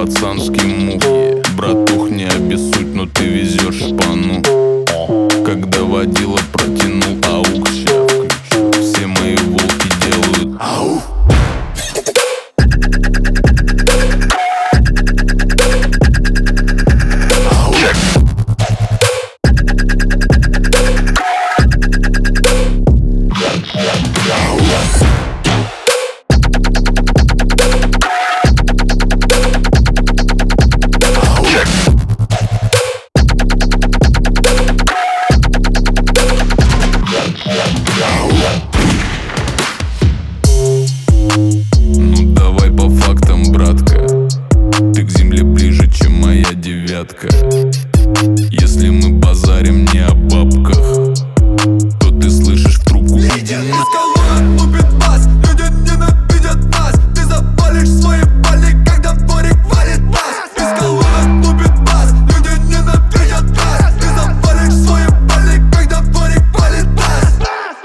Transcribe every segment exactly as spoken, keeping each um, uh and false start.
пацанский мух. Братух, не обессудь, но ты везешь шпану. Когда водила протянул аук, ща включу. Все мои волки делают ау. Ну давай по фактам, братка. Ты к земле ближе, чем моя девятка. Если мы базарим не о бабках, то ты слышишь в трубку: иди на... Лупит бас, люди ненавидят нас. Ты запалишь свои пали, когда в дворик валит нас. Из колонок лупит бас, люди ненавидят нас. Ты запалишь свои пали, когда в дворик валит нас.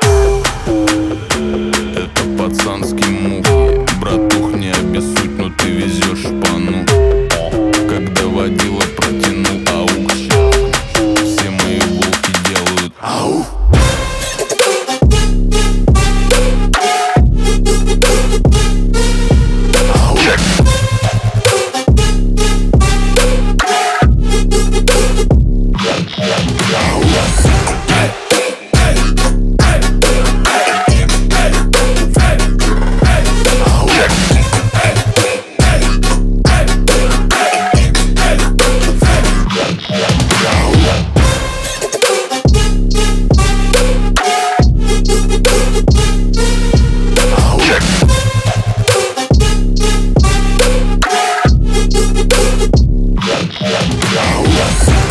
Это пацанский мух. Братух, не обессудь, но ты везешь шпану. Когда водила протянул аук, ща включу. Все мои волки делают ау. Yeah.